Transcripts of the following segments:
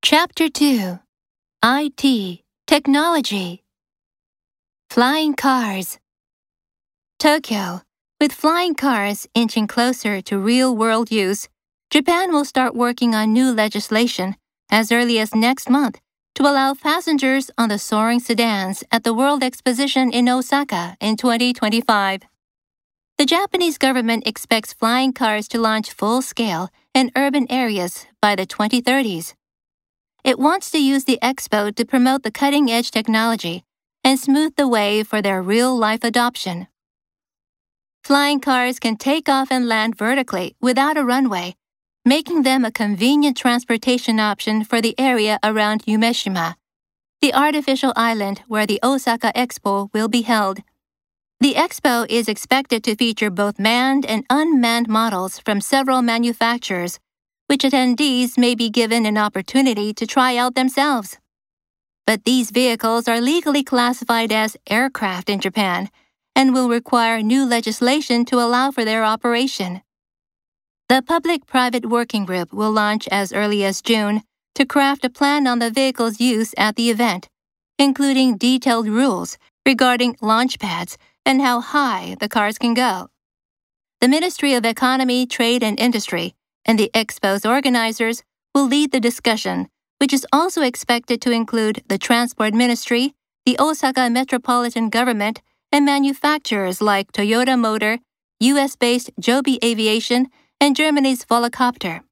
Chapter 2 IT Technology Flying Cars Tokyo. With flying cars inching closer to real-world use, Japan will start working on new legislation as early as next month to allow passengers on the soaring sedans at the World Exposition in Osaka in 2025. The Japanese government expects flying cars to launch full-scale in urban areas by the 2030s. It wants to use the expo to promote the cutting-edge technology and smooth the way for their real-life adoption. Flying cars can take off and land vertically without a runway, making them a convenient transportation option for the area around Umeshima, the artificial island where the Osaka Expo will be held. The expo is expected to feature both manned and unmanned models from several manufacturers, which attendees may be given an opportunity to try out themselves. But these vehicles are legally classified as aircraft in Japan and will require new legislation to allow for their operation. The Public-Private Working Group will launch as early as June to craft a plan on the vehicle's use at the event, including detailed rules regarding launch pads and how high the cars can go. The Ministry of Economy, Trade and Industry and the Expo's organizers will lead the discussion, which is also expected to include the Transport Ministry, the Osaka Metropolitan Government, and manufacturers like Toyota Motor, US-based Joby Aviation, and Germany's Volocopter.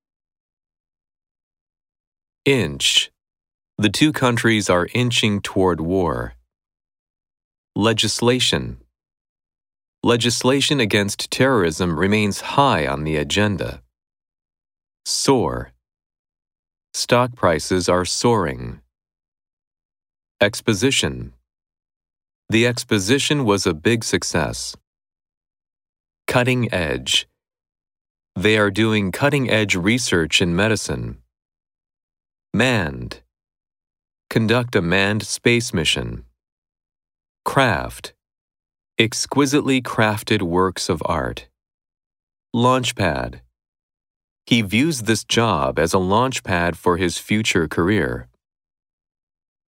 Inch. The two countries are inching toward war. Legislation. Legislation against terrorism remains high on the agenda. Soar. Stock prices are soaring. Exposition. The exposition was a big success. Cutting edge. They are doing cutting-edge research in medicine. Manned. Conduct a manned space mission. Craft. Exquisitely crafted works of art. Launchpad. He views this job as a launchpad for his future career.